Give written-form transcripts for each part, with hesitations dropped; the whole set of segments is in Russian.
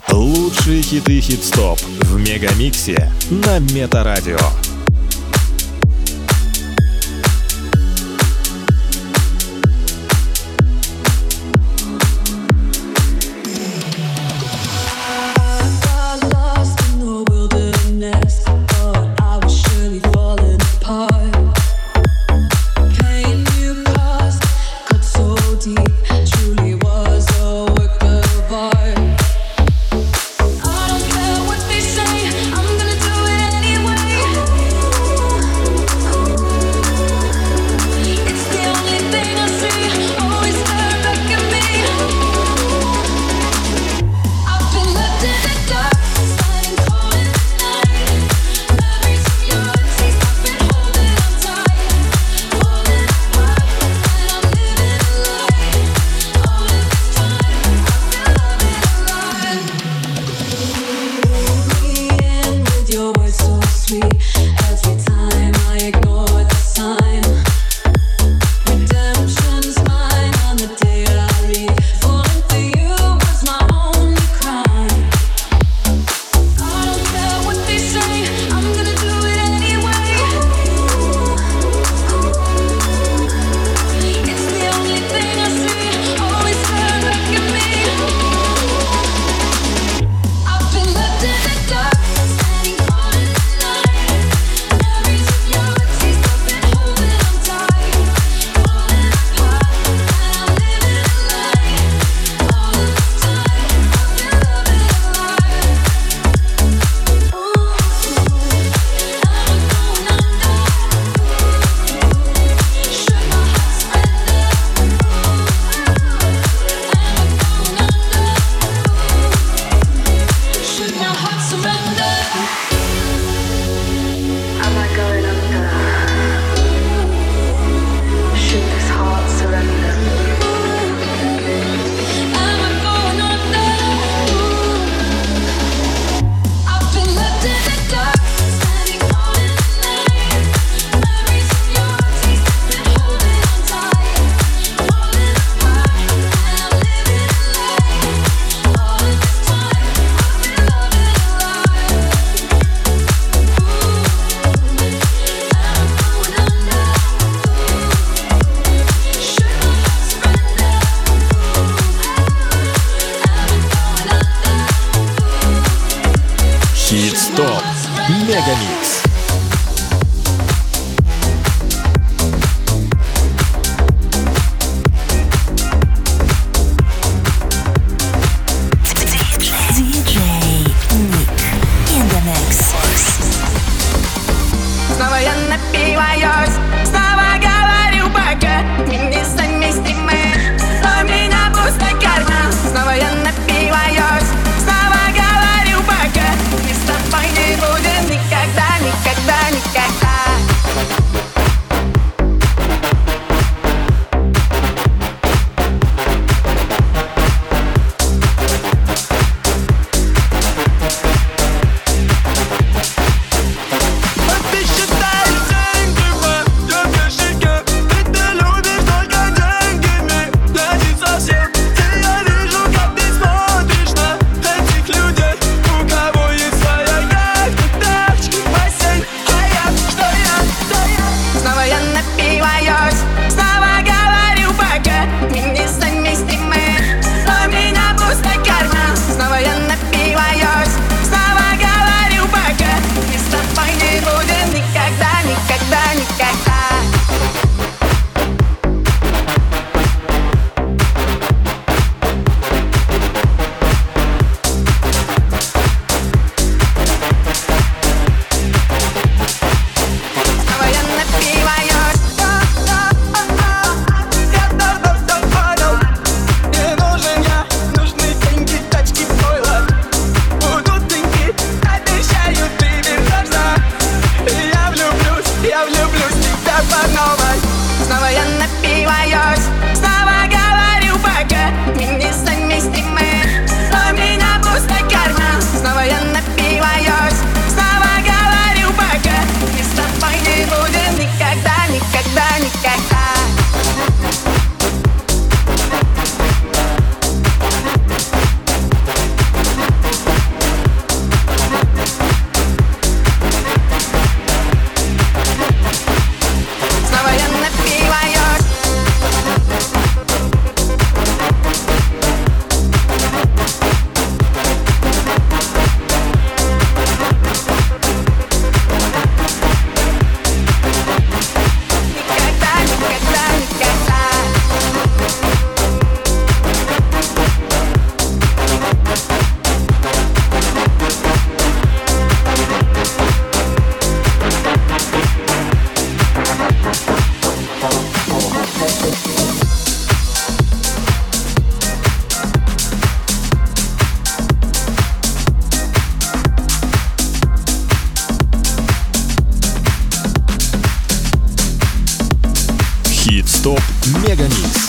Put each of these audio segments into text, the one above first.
Лучшие хиты Хит-стоп в Мегамиксе на Метарадио. Хит-стоп Мегамикс. Снова я напиваюсь, снова говорю пока мы несовместимы, но у меня пустой карман. Снова я напиваюсь, снова говорю пока мы с тобой не будем никогда, никогда. Хит-стоп Мегамикс.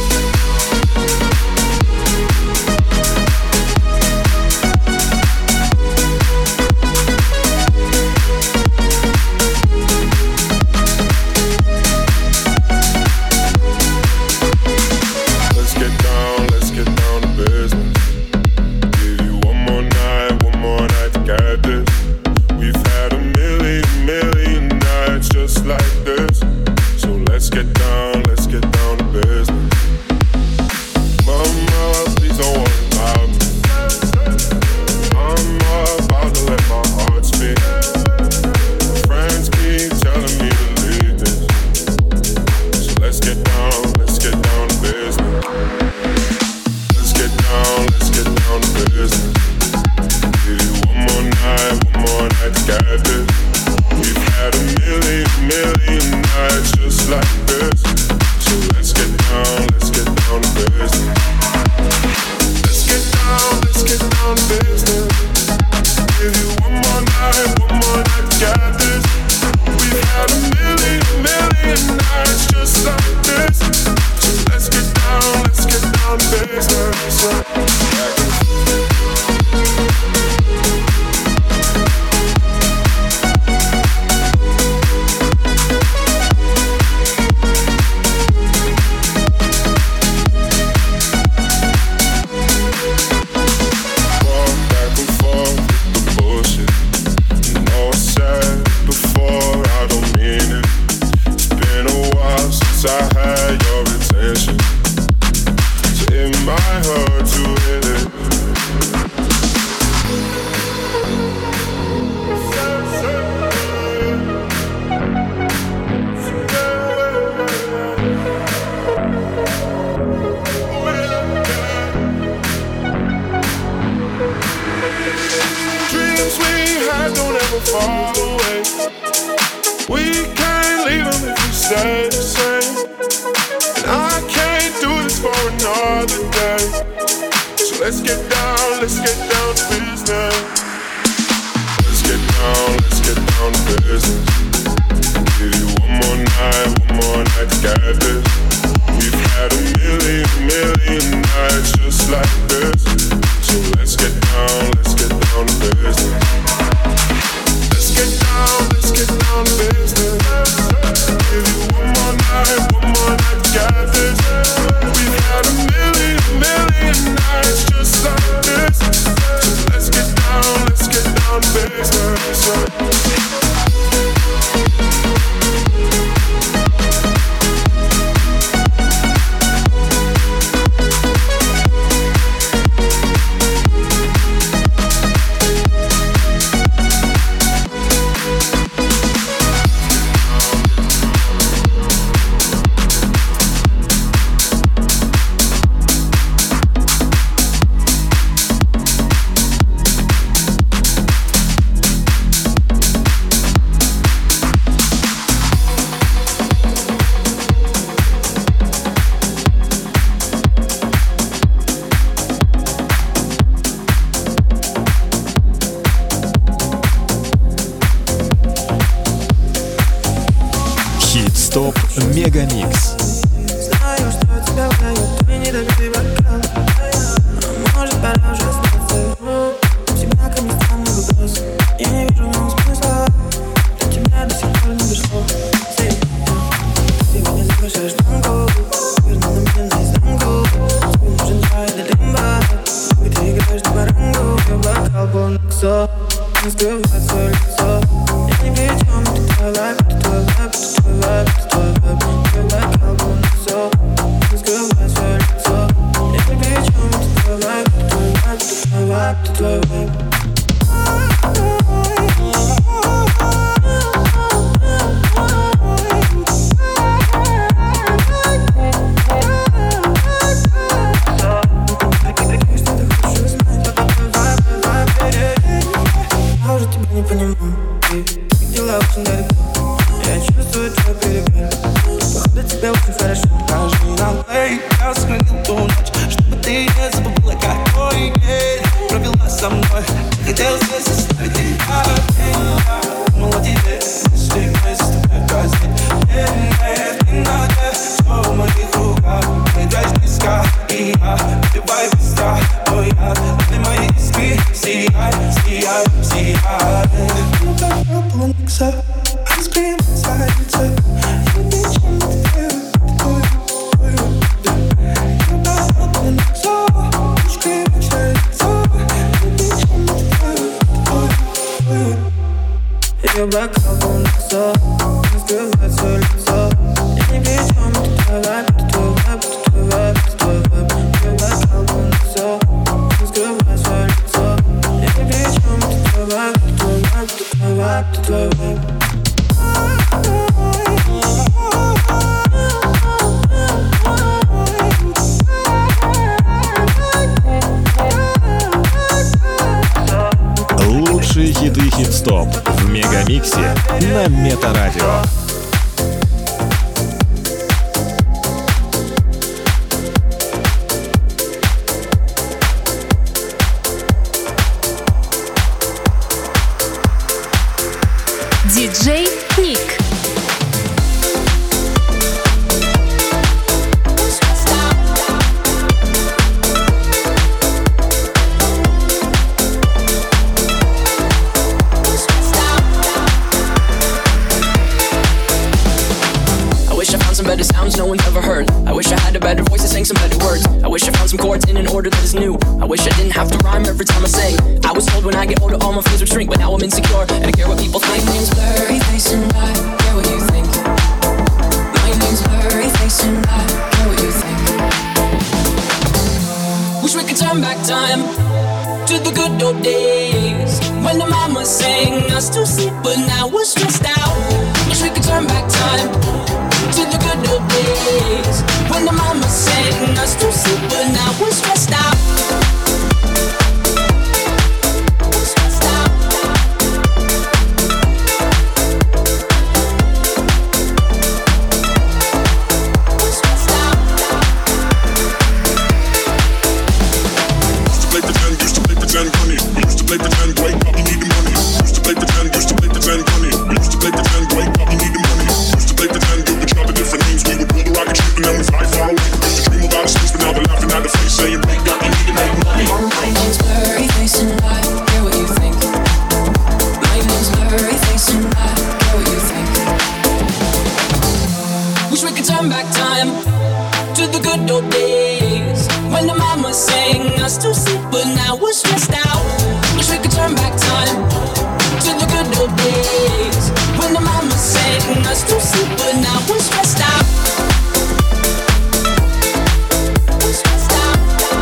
Хит-стоп Мегамикс. Знаю, что тебя узнают, твой недолюбивый бокал. А может, пора уже остаться. Всегда ко мне странный вопрос. Я не вижу в нем смысла. До тебя до сих пор не дошло. Ты меня заглушаешь танго. Верно на мне наизнанку. Тебе нужен чай для лимба. И ты играешь на барангу. Твой бокал полный ксо. Не скрывает свое лицо. Я не при чем, это твой лайф, это твой лайф, это твой лайф, это твой лайф. Твой бокал полный ксо. Не скрывает свое лицо. Я не при чем, это твой лайф, это твой лайф, это твой лайф, это твой лайф. Не понимаю, как дела очень далеко. Я чувствую твой перегрев. Походу тебе очень хорошо. Каждый налей я сохранил ту ночь, чтобы ты не забыла, какой день провела со мной. Хотел здесь оставить тебя. Думала тебе, если мы с тобой в газе. Нет, не надо, что Ее бокал полон лицо, не скрывает свое лицо. Я ни при чем, это твой вайб, это твой вайб, это твой вайб, это твой вайб. Ее бокал полон лицо, не скрывает свое лицо. Я ни при чем, это твой вайб, это твой вайб, это твой вайб, это твой вайб. Лучшие хиты хит-стоп в Мегамиксе на Метарадио. Диджей Ник. Better sounds no one's ever heard. I wish I had a better voice and sang some better words. I wish I found some chords in an order that is new. I wish I didn't have to rhyme every time I sang. I was told when I get older all my fears would shrink, but now I'm insecure and I care what people think. My name's Blurry Face and I care what you think. My name's Blurry Face and I care what you think. Wish we could turn back time to the good old days when the mama sang us to sleep, but now we're stressed out. Wish we could turn back time to the good old days when the mama sang us to sleep, but now we're stressed out. We're stressed out. We're stressed out. Used to play pretend, funny. We used to play pretend, wake up, you need the money. Used to play pretend, funny. We used to play pretend, wake up, you need the money. Used to play pretend, you could try the different names. We would build a rocket ship and then we fly far away. Used to dream about a space, but now they're laughing at the face, saying, wake up, you need to make money. My name's Blurry Face and I care what you think. My name's Blurry Face and I care what you think. Wish we could turn back time to the good old days when the mama sang us to sleep, but now we're stressed out. Wish we could turn back time to the good old days when the mama sang us to sleep, but now we're stressed out. We're stressed out.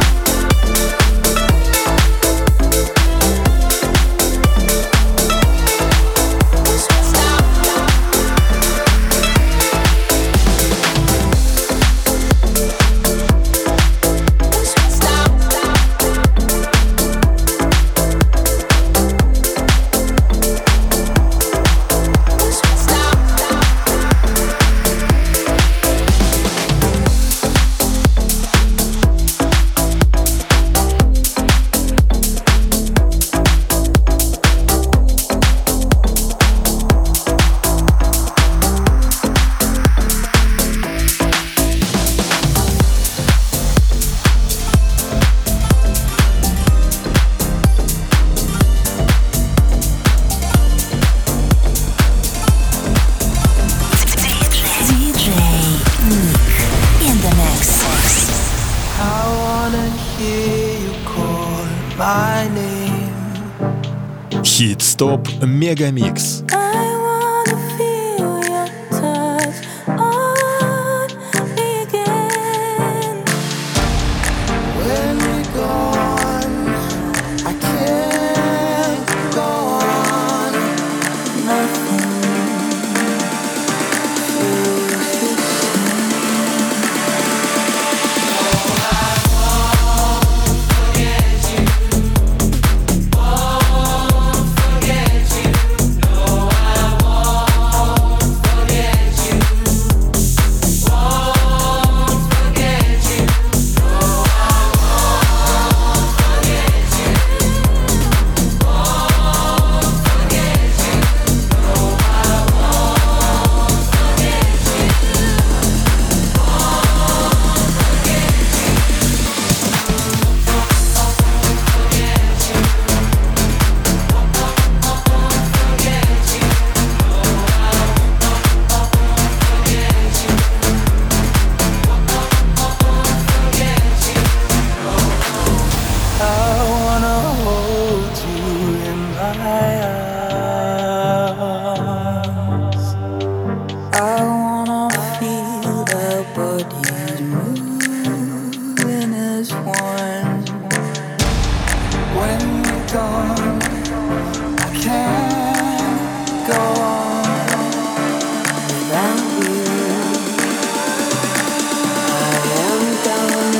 We're stressed out. We're stressed out. Хит-стоп Мегамикс. I gone. I can't go on without you. I am done.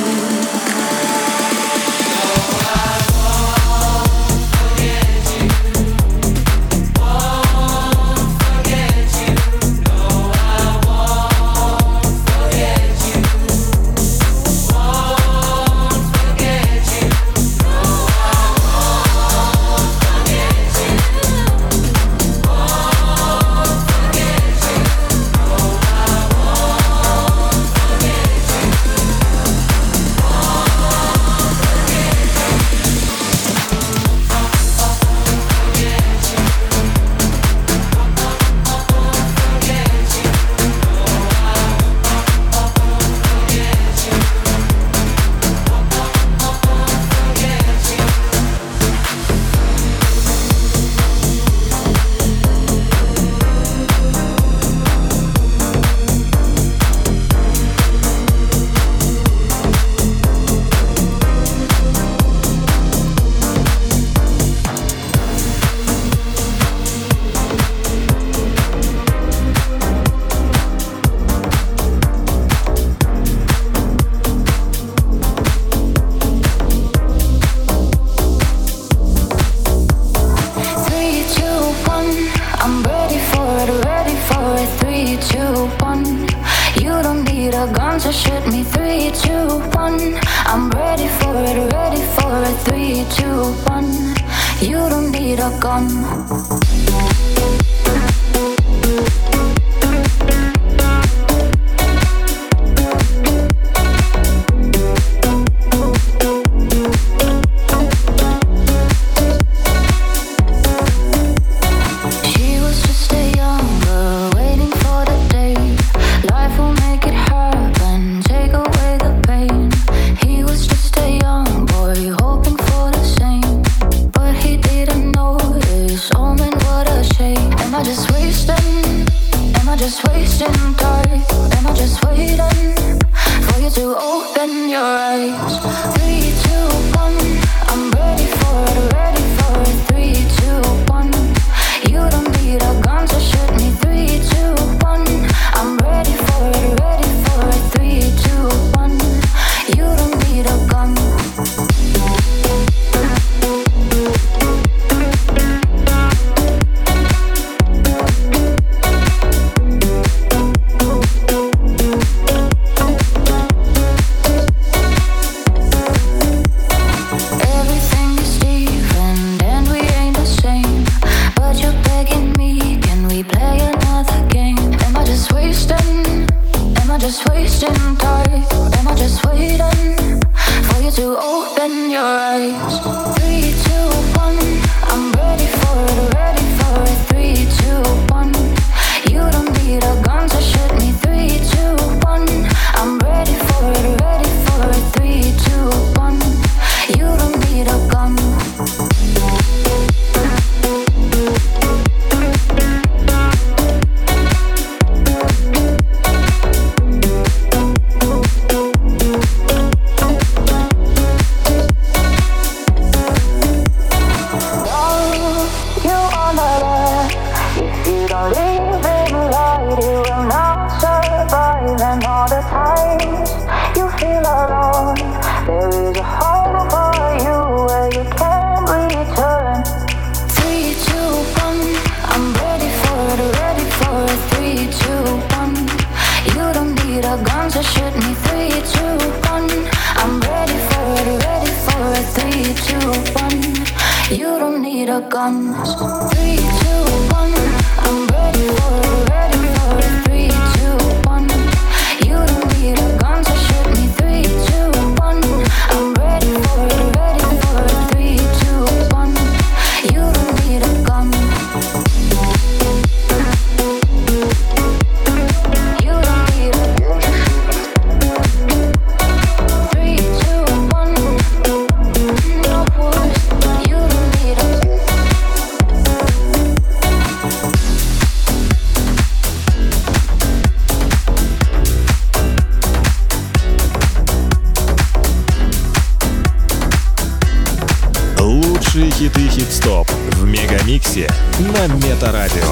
Лучшие хиты хит-стоп в Мегамиксе на Метарадио.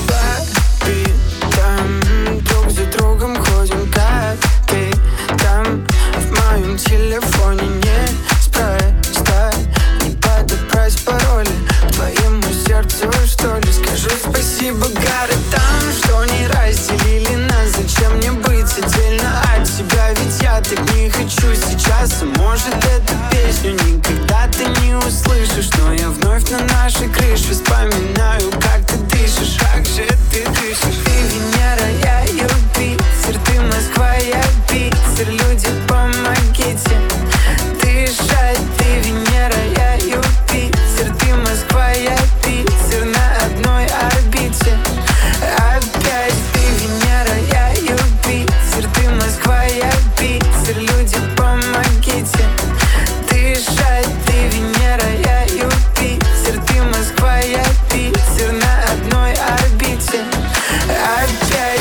Друг за другом ходим, как ты там. В моем телефоне не спростай, не подобрать пароли к твоему сердцу, что ли. Скажу спасибо городам, что не разделили нас. Зачем мне быть отдельно от тебя? Ведь я так не хочу сейчас. Может, эту песню никогда ты не услышишь, но я вновь на нашей крыше вспоминаю, как ты дышишь. Как же ты дышишь? Ты Венера, я Юпитер. Ты Москва, я Питер. Люди, помогите дышать. Ты Венера, я Юпитер. Ты Москва, я Питер. На одной орбите опять. Ты Венера, я Юпитер. Ты Москва, я Питер. Люди, помогите дышать. Ты Венера, я Юпитер. Ты Москва, я Питер. На одной орбите опять.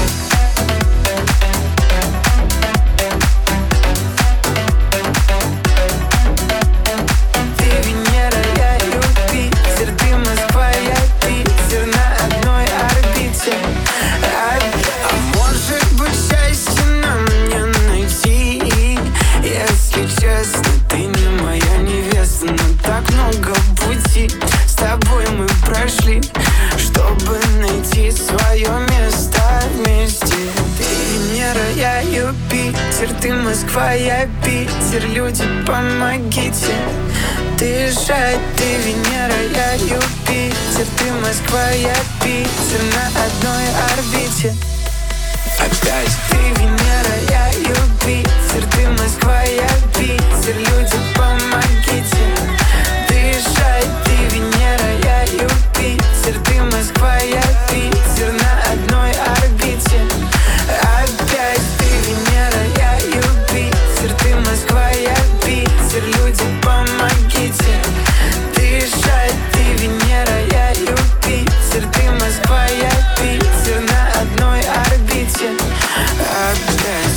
Ты Венера, я Юпитер. Ты Москва, я Питер. На одной орбите опять. А может быть, счастье нам не найти? Если честно, ты не моя невеста, но так много пути с тобой мы прошли, чтобы найти свое место вместе. Ты Венера, я Юпитер. Ты Москва, я Питер. Люди, помогите дышать. Ты Венера, я Юпитер. Ты Москва, я Питер. На одной орбите опять. Ты Венера, я Юпитер. Ты Москва, я Питер. Люди, помогите дышать. Ты Венера, я Юпитер. Ты Москва, я Питер. На одной орбите опять. Ты Венера, я Юпитер. Ты Москва, я Питер. Люди, помогите дышать. Ты Венера, я Юпитер. Ты Москва, я Питер. На одной орбите опять.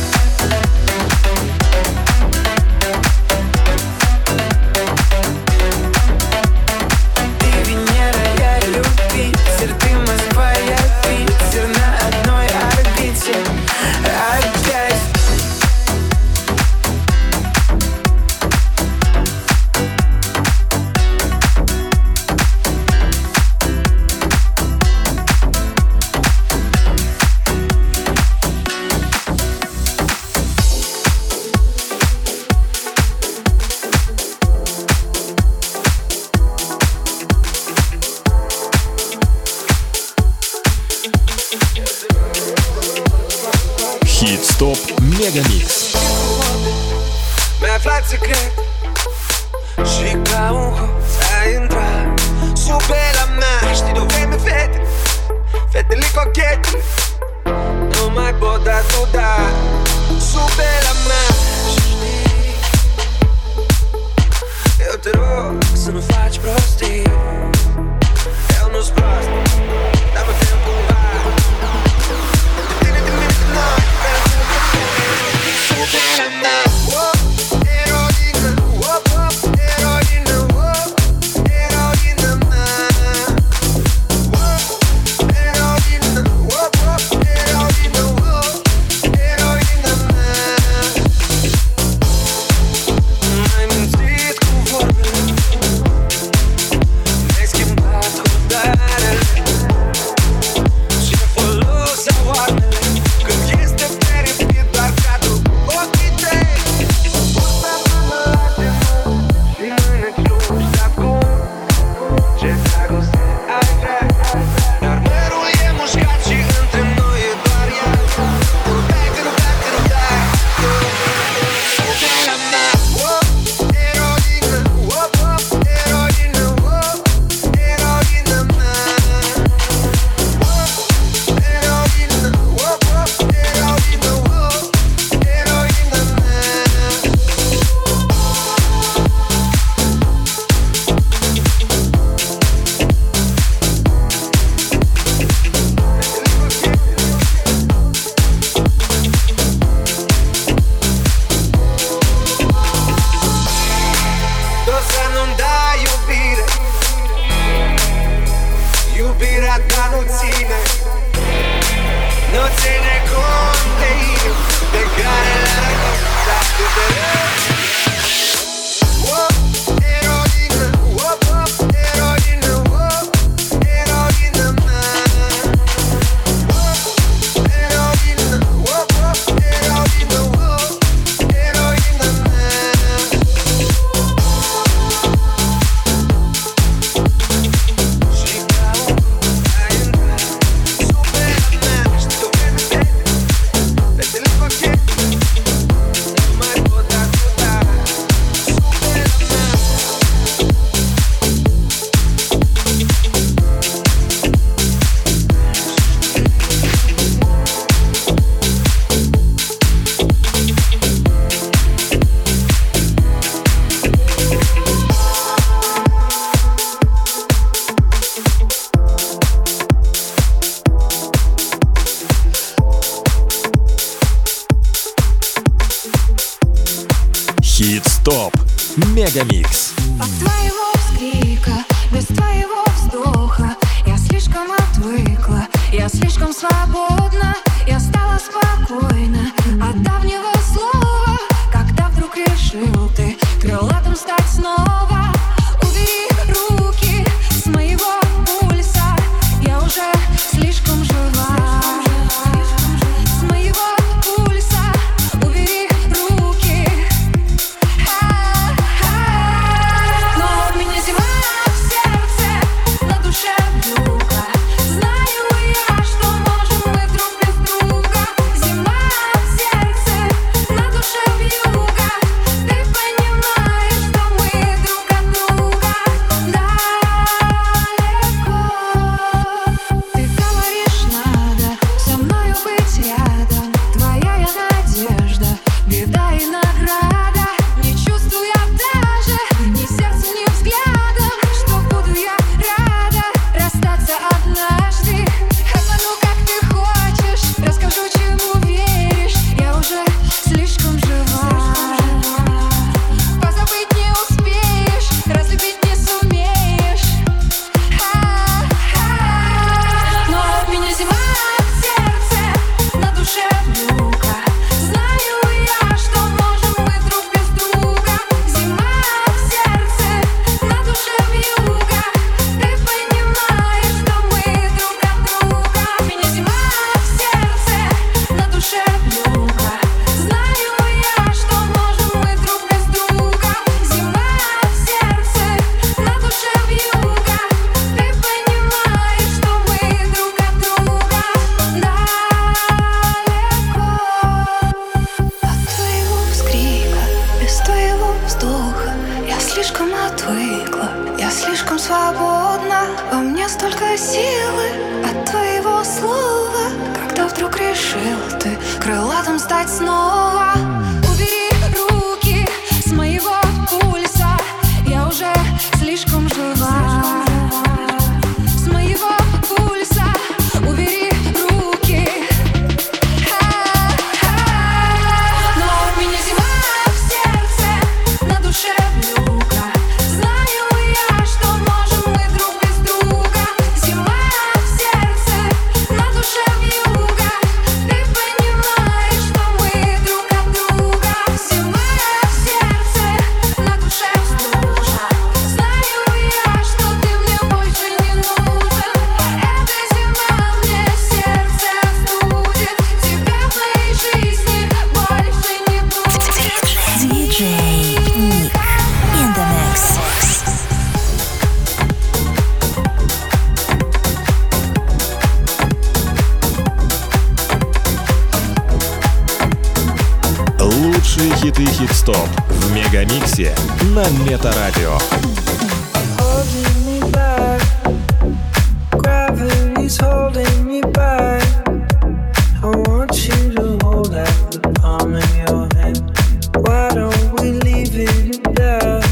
Ты Венера, я Юпитер. Ты Москва, я Питер. На одной орбите опять. Хит-стоп Мегамикс. Mi aflat secret și ca un hoț ai intrat sub pe la mea. Știi de-o vreme fete, fetele cochete nu mai pot atuda sub pe la mea. Știi, eu te rog să nu faci prostii. Eu nu-s prost, dar mă tem cumva de tine de mine de noi. Sub pe la mea. Eroină, eroină, non se ne conta io, pegare la raccolta eroina, eroina, eroina man. Eroina, eroina man. Хит-стоп. Мегамикс. От твоего вскрика, без твоего вздоха я слишком отвыкла, я слишком свободна, я стала спокойна от давнего слова, когда вдруг решил ты крылатым стать снова. Убери руки с моего пульса, я уже слишком жива. С моего пульса убери руки. Но у меня зима в сердце, на душе вьюга. Знаю я, что можем мы друг без друга. Зима в сердце, на душе вьюга. Ты понимаешь, что мы друг от друга далеко. Ты говоришь, надо со мною быть рядом. Твоя я надежда, беда и награда. Не чувствую даже ни сердцем, ни взглядом, что буду я рада расстаться однажды. Обману, как ты хочешь, расскажу, чему веришь. Я уже слишком жива. Позабыть не успеешь, разлюбить не сумеешь. Но у меня зима в сердце, на душе вьюга. Знаю я, что можем мы друг без друга. Зима в сердце, на душе вьюга. Ты понимаешь, что мы друг от друга. У меня зима в сердце, на душе вьюга. Знаю я, что можем мы друг без друга. Зима в сердце, на душе вьюга. Ты понимаешь, что мы друг от друга далеко. От твоего вскрика, без твоего вздоха я слишком отвыкла, я слишком свободна. Во мне столько силы от твоего слова, когда вдруг решил ты крылатым стать снова. Убери руки с моего пульса, я уже слишком жива. С моего пульса убери руки. Но у меня зима в сердце, на душе вьюга. Знаю я, что можем мы друг без друга. Зима в сердце, на душе вьюга. Ты понимаешь, что мы друг от друга. Зима в сердце, на душе вьюга. Знаю я, что ты мне больше не нужен. Эта зима мне сердце остудит. Тебя в моей жизни больше не будет. DJ Nick in the mix. Лучшие хиты хит-стоп в Мегамиксе на Метарадио. Holding me back, gravity's holding me back. I want you to hold out the palm of your hand. Why don't we leave it at that?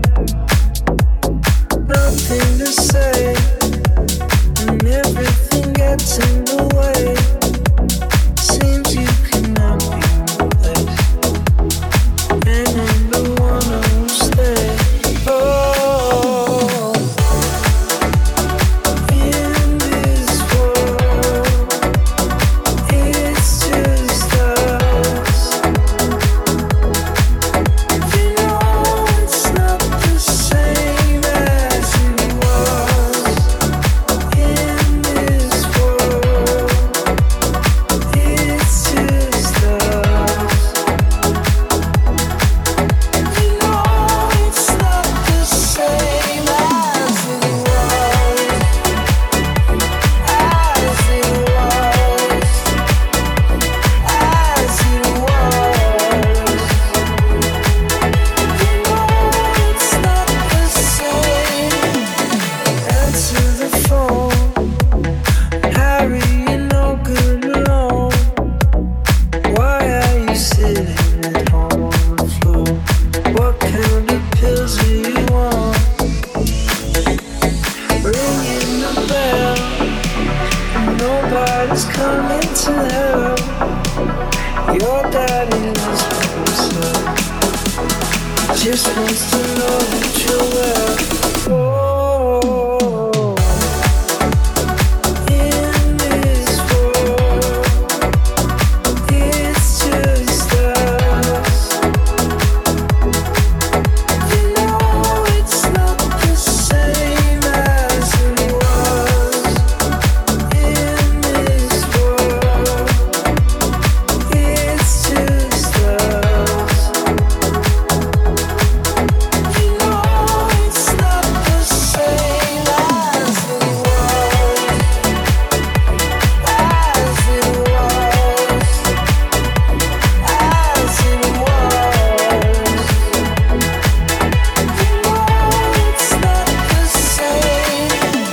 Nothing to say, and everything gets in the way. Seems you cannot be replaced, and I'm the one who'll stay. Oh, to know your daddy knows himself. Just wants to know that you're well. In this world, it's just us. You know it's not the same as it was. In this world, it's just us. You know it's not the same as it was. As it was. As it was. You know it's not the same.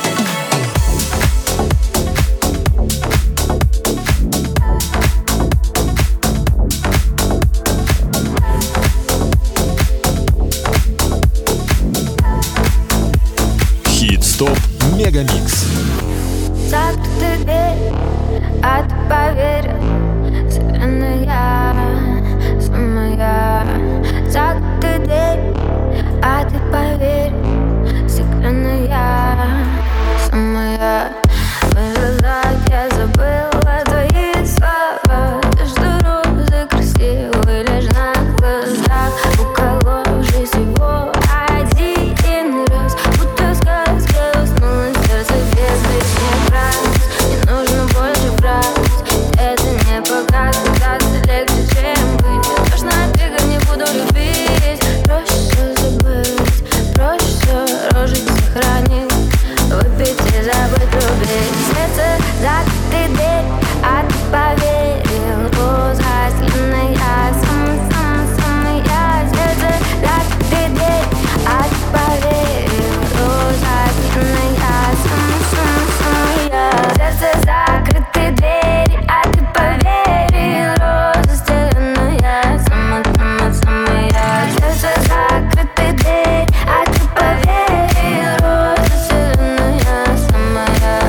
Хит-стоп Мегамикс. Закрытая дверь, а ты поверил, совершенно сама я. Закрытая дверь, а ты поверил, совершенно сама я. В глазах я забыла твои слова, то, что розы красивые лишь на глазах, уколовшись его один раз, будто сказка уснула сердце без лишних фраз. Не нужно больше фраз, это не показ, казаться легче, чем быть. Точно ты не буду любить, проще забыть, проще рожить сохранить, выпить и забыть, любить. Сердце закрытый дверь, а ты поверил, роза сильная, самая я. Сердце закрытый дверь, а ты поверил, роза сильная, самая я. Сердце закрытый дверь, а ты поверил, роза сильная, самая я. Сердце закрытый дверь, а ты поверил, роза сильная, самая я.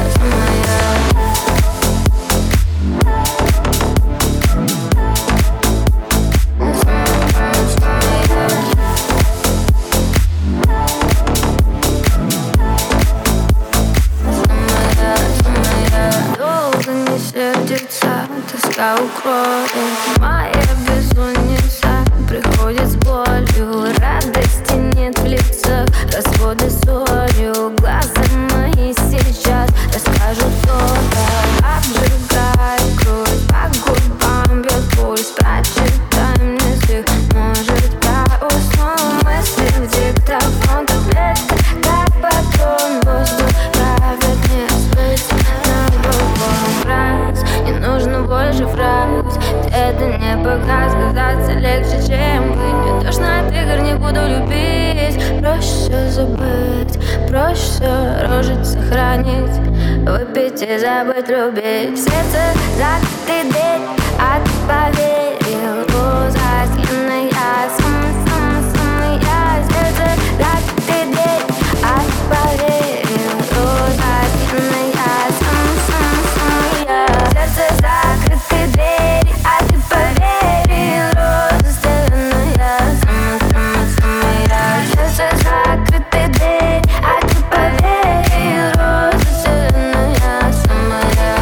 Долго не сердится, тоска укроет. Моя бессонница приходит с болью, радости нет в лицах, разводы солью. Глаза мои сейчас расскажут то-то, обжигает кровь, по губам бьет пульс. Прочитай мне стих, может я усну. Мысли в диктофон, таблетка, как батон. Воздух правит мне спать на балкон. Фраз, не нужно больше фраз, это не показ, казаться легче, чем быть. Я точно от игр не буду любить, проще забыть, проще рожить, сохранить, выпить и забыть, любить. Сердце закрытый дверь, а ты поверил, роза сильная, самая я. Сердце закрытый дверь, а ты поверил, роза сильная, самая я. Сердце закрытый дверь, а ты поверил, роза сильная, самая я. Сердце закрытый дверь, а ты поверил, роза сильная, самая я.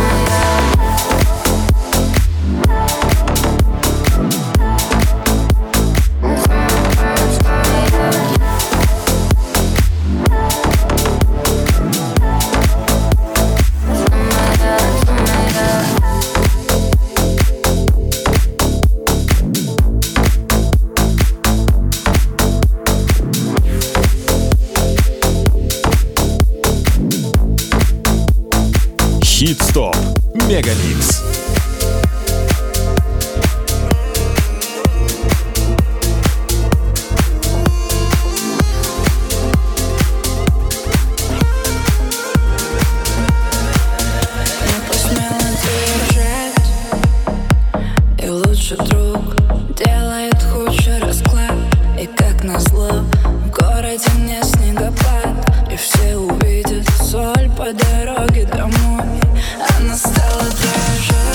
Хит-стоп Мегамикс. Друг делает худший расклад, и как назло в городе не снегопад, и все увидят соль по дороге домой. Она стала дрожать.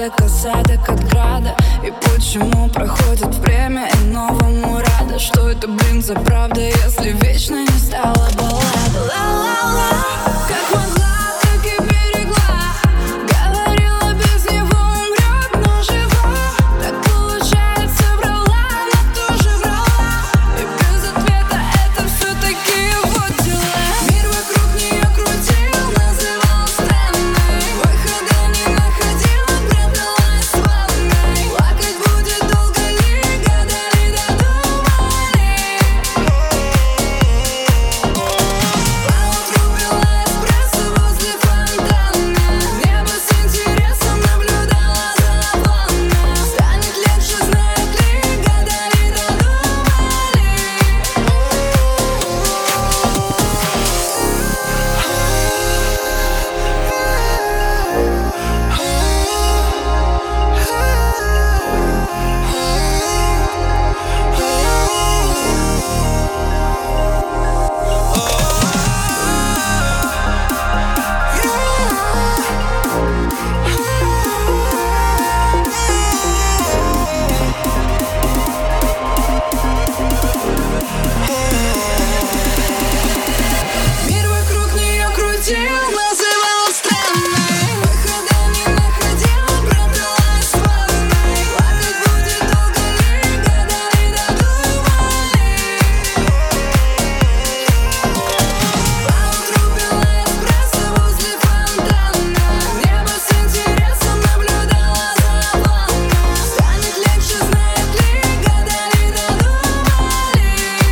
осадок, осадок от града. И почему проходит время и новому рада? Что это, блин, за правда, если вечно не стала баллада? Ла-ла-ла, как могла, так и берегла. Говорила, без него умрет, но жива. Так получается, врала, но тоже врала. И без ответа это все-таки его дела. Мир вокруг нее крутил, называл странной. Выхода не находила, пряталась в ванной. Плакать будет долго ли, гадали, додумали. Поутру пила эспрессо возле фонтана. Небо с интересом наблюдала за облаками. Станет легче, знает ли, гадали, додумали. Мир вокруг нее крутил, называл странной. Выхода не находила, пряталась в ванной. Плакать будет долго ли, гадали, додумали. Поутру пила эспрессо возле фонтана. Небо с интересом наблюдала за облаками. Станет легче, знает ли, гадали, додумали.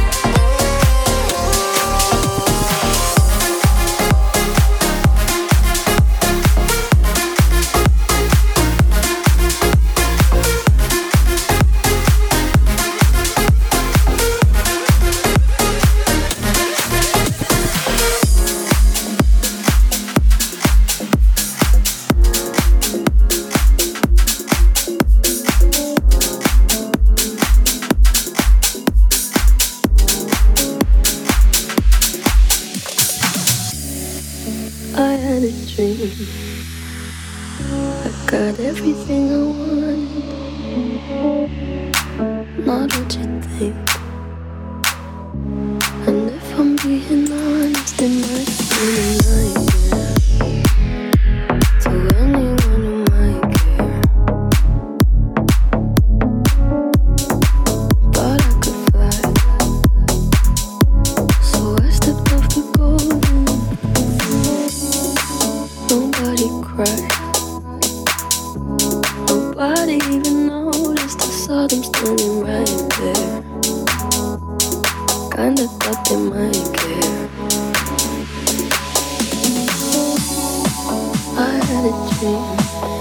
I had a dream. I got everything I want. Not what you think. And if I'm being honest, it might have been a nightmare to anyone who might care. Thought I could fly, so I stepped off the golden. Nobody cried. Nobody even noticed. I saw them standing right there. Kinda thought they might care. I had a dream.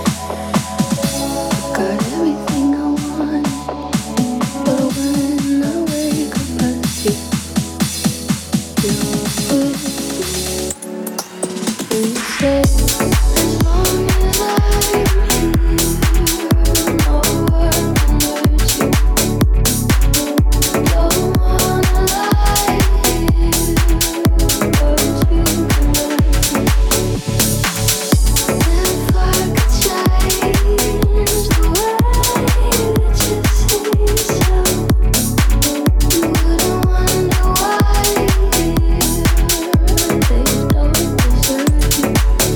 I got everything I want. But when I wake up, I see you're with me. And you say, as long as I'm here, no one can hurt you. Don't wanna lie here, but you can hurt me. If I could change the way that you see yourself, you wouldn't wonder why they don't deserve you.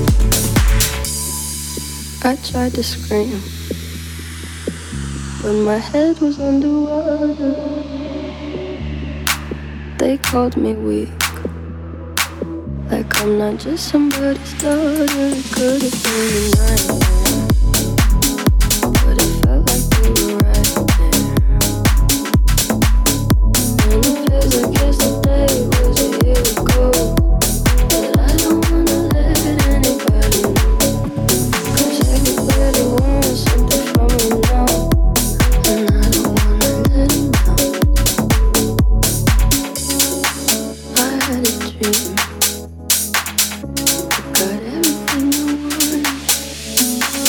I tried to scream, but my head was underwater. They called me weak, like I'm not just somebody's daughter. It could have been a nightmare, but it felt like they were right there. And it feels like yesterday was a year ago, but I don't wanna let anybody know, 'cause everybody wants something from me now, and I don't wanna let them know. I had a dream. I got everything I want.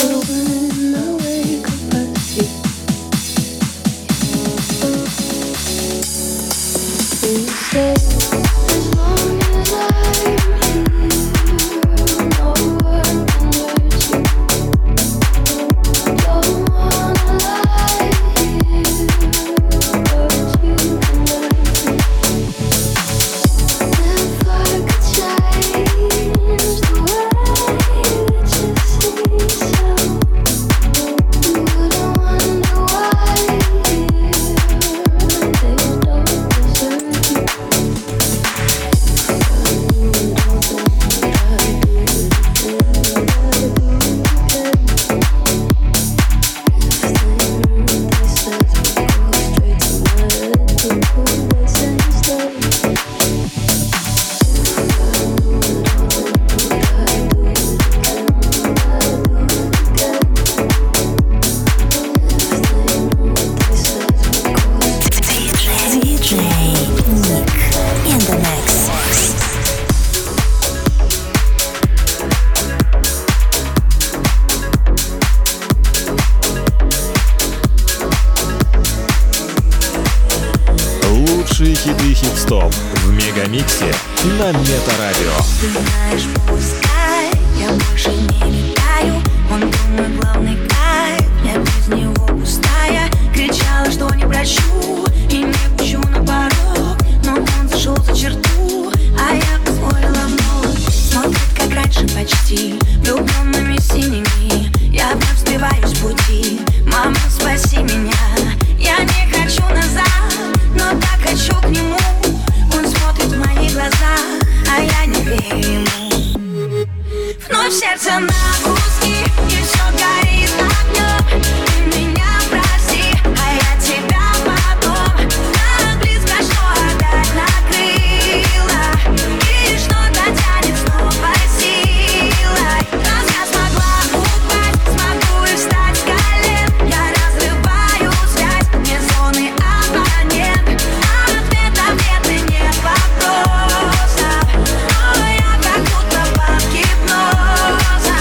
Лучшие хиты хит-стоп в Мегамиксе на Метарадио. Ты знаешь, пускай я больше не летаю, он был мой главный кайф, я без него пустая. Кричала, что не прощу и не пущу на порог, но он зашел за черту, а я позволила вновь. Смотрит, как раньше почти, влюбленными синими. Я вновь сбиваюсь с пути. Мама, спаси меня. Я не хочу назад, но так хочу к нему. Он смотрит в мои глаза, а я не верю ему. Вновь сердце на куски, и все горит огнем. Ты меня прости, а я тебя потом. Так близко, что опять накрыло, и что-то тянет снова силой. Раз я смогла упасть, смогу и встать с колен. Я разрываю связь, мне зоны абонент. А ответов нет и нет вопросов, но я как будто под гипнозом.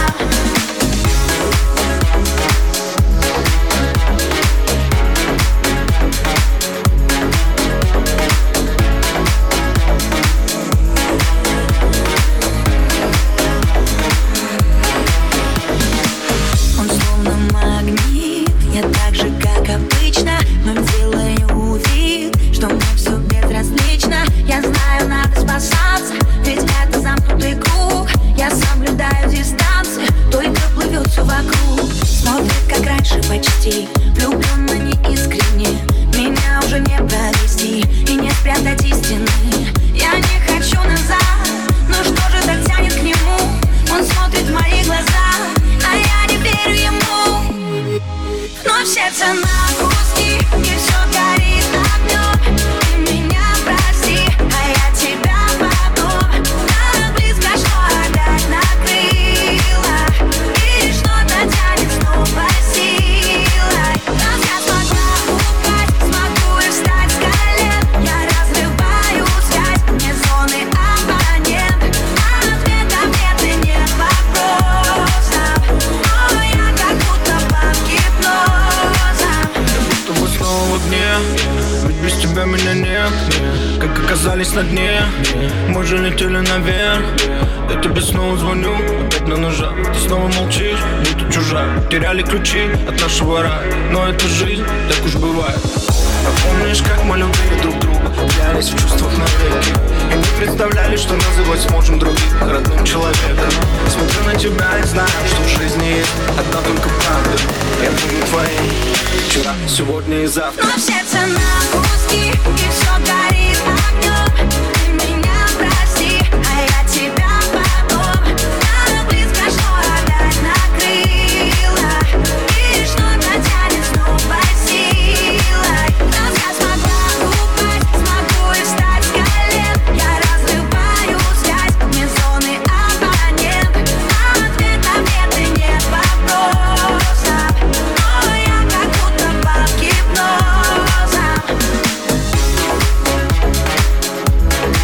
Он словно магнит, я так же, как обычно, но делаю вид, что мне все безразлично. Я знаю, надо спасаться, ведь это замкнутый круг. Я соблюдаю дистанцию, только плывет все вокруг. Смотрит, как раньше почти, влюбленно неискренне. Меня уже не провести и не спрятать истины. Я не хочу назад, но что же так тянет к нему? Он смотрит в мои глаза, а я не верю ему. Вновь сердце на куски, и все горит огнем. Ты меня прости, а я тебя потом. Так близко, что опять накрыло, и что-то тянет снова силой. Раз я смогла упасть, смогу и встать с колен. Я разрываю связь, мне зоны абонент. А ответов нет и нет вопросов, но я как будто под гипнозом. Тобой снова в огне, ведь без тебя меня нет. Как оказались на дне, мы же летели наверх. Я тебе снова звоню, опять на ножах. Ты снова молчишь, будто чужак. Теряли ключи от нашего рая, но это жизнь, так уж бывает. А помнишь, как мы любили друг друга, клялись в чувствах навеки, и не представляли, что называть сможем других родным человеком. Смотрю на тебя и знаю, что в жизни есть одна только правда. Я буду твоим вчера, сегодня и завтра. Но сердце на куски, и все горит огнем. Ты меня прости, а я тебя потом. Так близко, что опять накрыло, и что-то тянет снова силой. Раз я смогла упасть, смогу и встать с колен. Я разрываю связь, мне зоны абонент. А ответов нет и нет вопросов, но я как будто под гипнозом.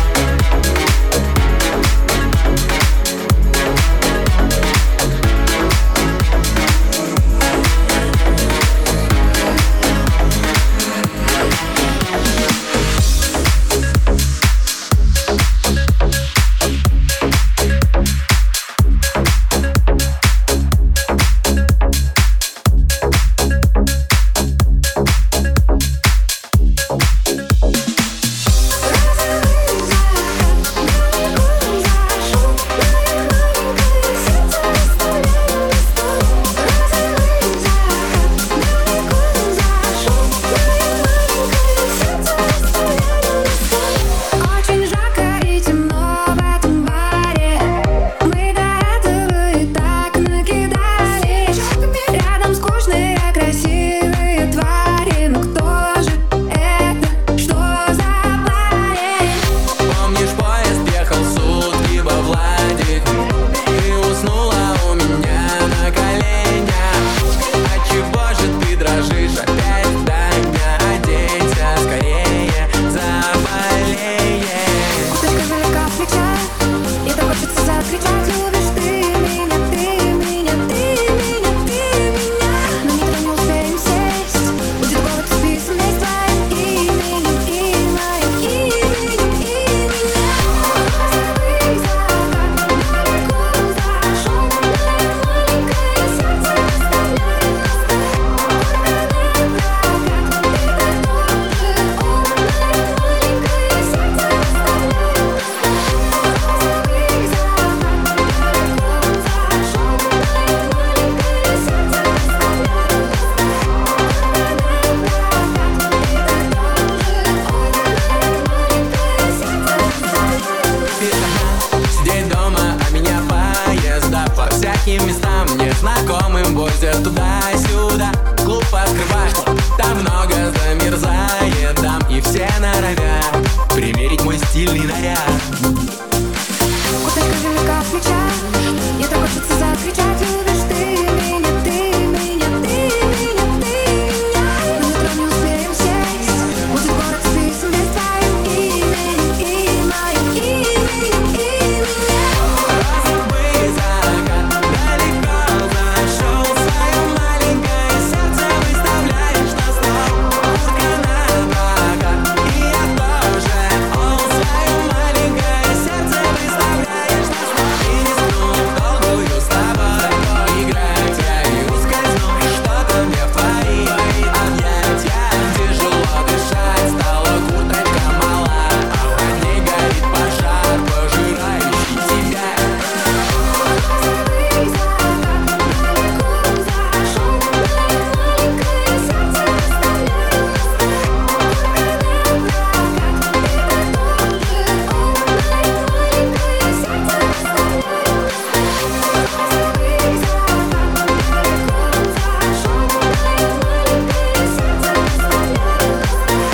блюда. Клуб открывай, там много замерзает дам, и все норовят примерить мой стильный наряд. Вот скажи мне, как встречать, мне так хочется закричать. Любишь ты меня, ты меня, ты меня, ты меня. Мы утром не успеем сесть, будет город списан без твоим именем и моим именем, именем. Розовый закат далеко зашел, свое маленькое сердце выставляешь на стол. Утка на прокат, и я тоже. Он свое маленькое сердце выставляешь на стол. И не сну в долгую с тобой поиграть я и ускользну. Что-то мне в твои объятия тяжело дышать. Стала курточка мала, а под ней горит пожар, пожирающий тебя. Розовый закат далеко зашел, мое маленькое сердце выставляю на стол. Утка на прокат, и ты тоже. Он мое маленькое сердце выставляю на стол. Розовый закат далеко зашел, мое маленькое сердце выставляю на стол.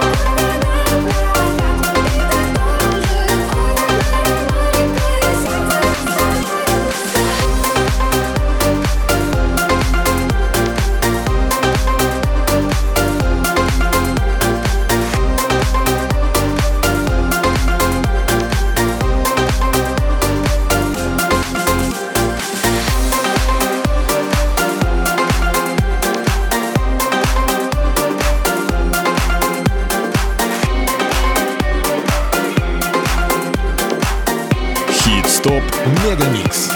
Хит-стоп Мегамикс.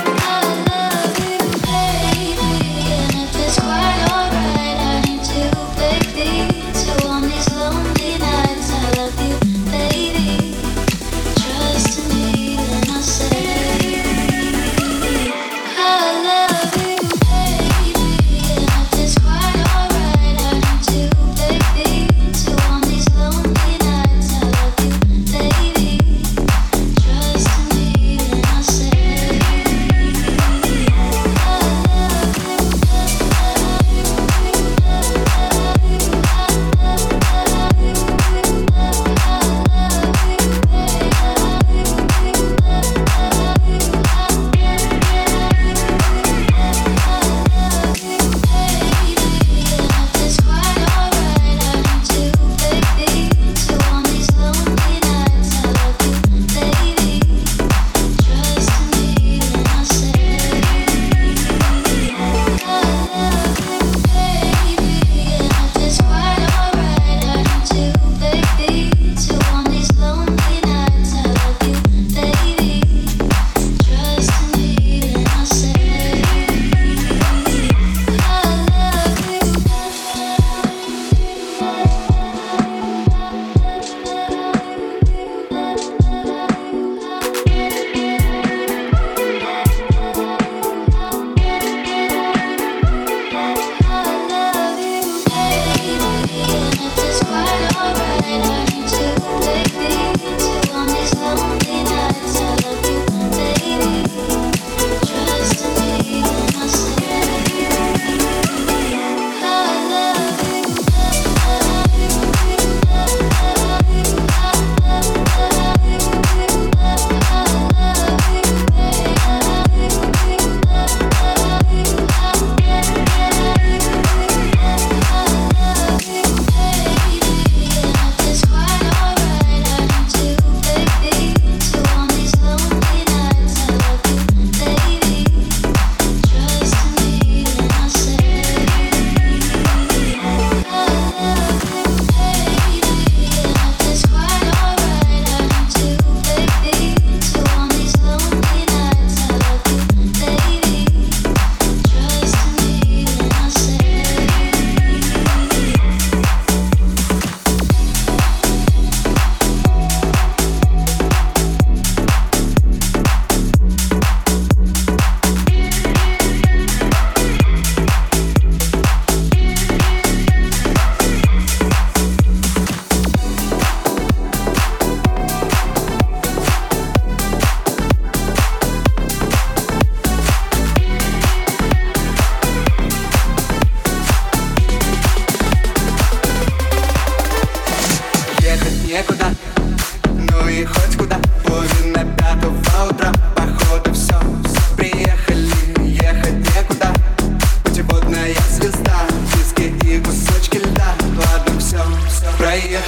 Trust me when I say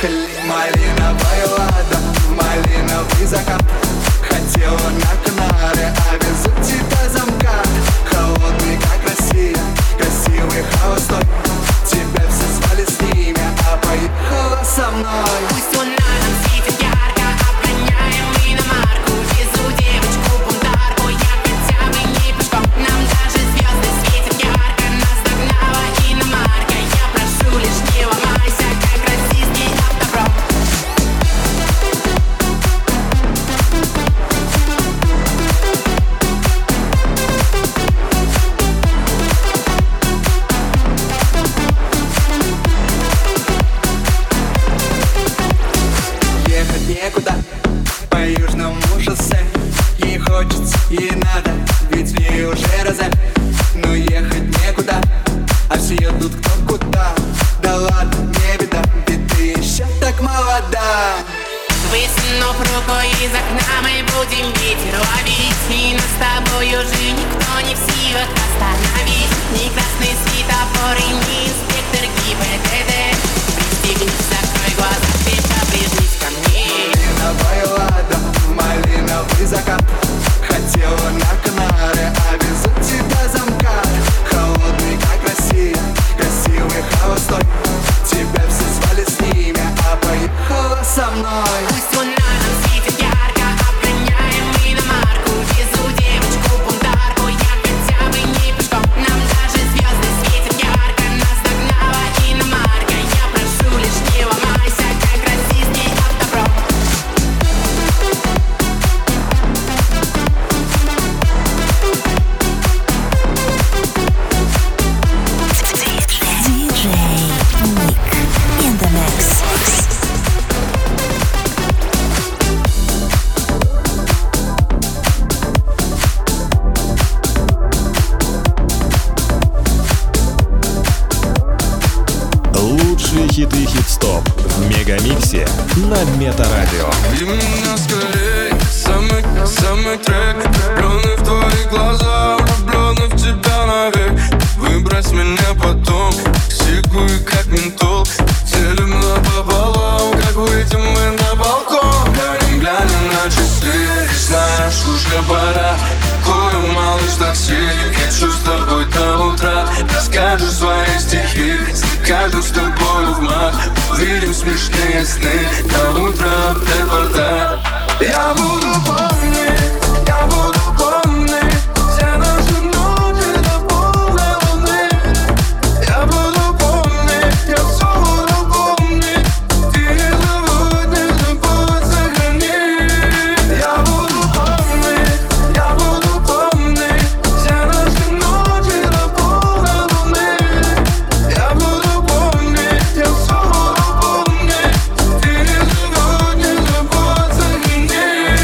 Поехали, малиновая лада, малиновый закат. Хотела на Канары, а везу тебя замка. Холодный, как Россия, красивый холостой. Тебя все звали с ними, а поехала со мной. Пусть луна нам светит ярко, обгоняем мы иномарку. Везу девочку бунтарку, я хотя бы не пешком. Нам даже звезды светят ярко, нас догнала иномарка. Я прошу, лишь не ломайся, как российский автопром. Ехать некуда по южному шоссе. Ей хочется, ей надо, ведь в ней уже розе. Но ехать некуда, а все едут кто куда. Да ладно, не беда, ведь ты еще так молода. Высунув руку из окна, мы будем ветер ловить. И нас с тобой уже никто не в силах остановить. Ни красный светофор и ни инспектор ГИБДД. Пристегнись, закрой глаза, крепко прижмись ко мне. Малиновая лада, малиновый закат. Хотела на Канары, а везу тебя замка. Холодный, как Россия, красивый холостой. Тебя все звали с ними, а поехала со мной. Пусть луна нам светит ярко, обгоняем мы иномарку. Везу девочку бунтарку, я хотя бы не пешком. Нам даже звезды светят ярко, нас догнала иномарка. Я прошу, лишь не ломайся, как российский автопром. DJ Nick in the mix. Лучшие хиты хит-стоп в Мегамиксе на Метарадио. И меня скорей, самый трек. Влюбленный в твои глаза, влюбленный в тебя навек. Выбрось меня потом, сикую как ментол. Делим напополам, как выйдем мы на балкон. Глянем на часы, знаешь, уже пора. Курим, малыш, такси, хочу с тобой до утра. Расскажешь свои стихи, каждым с тобой в маг. Увидим смешные сны, до утра до порта. Я буду помнить все наши ночи до полной луны. Я буду помнить, я все буду помнить. Ты не забудь, сохрани. Я буду помнить все наши ночи до полной луны. Я буду помнить, я все буду помнить. Ты не забудь, сохрани.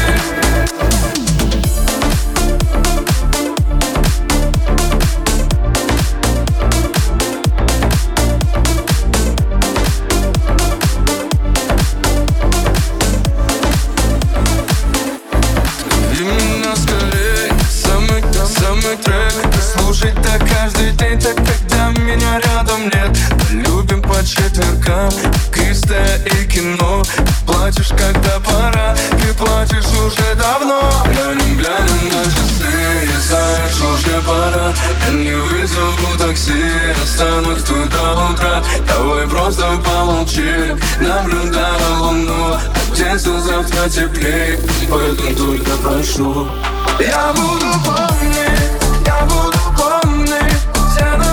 И меня скорей, самый трек. Слушать так каждый день, так когда меня рядом нет. Любим по четвергам, кристая и кино. Плачешь, когда пора, ты плачешь уже давно. Глянем на часы, и знаешь, уже пора. Я не вызову такси, останусь тут до утра. Давай просто помолчи, наблюдая луну. Оденься завтра теплей, поэтому только прошу. Я буду помнить все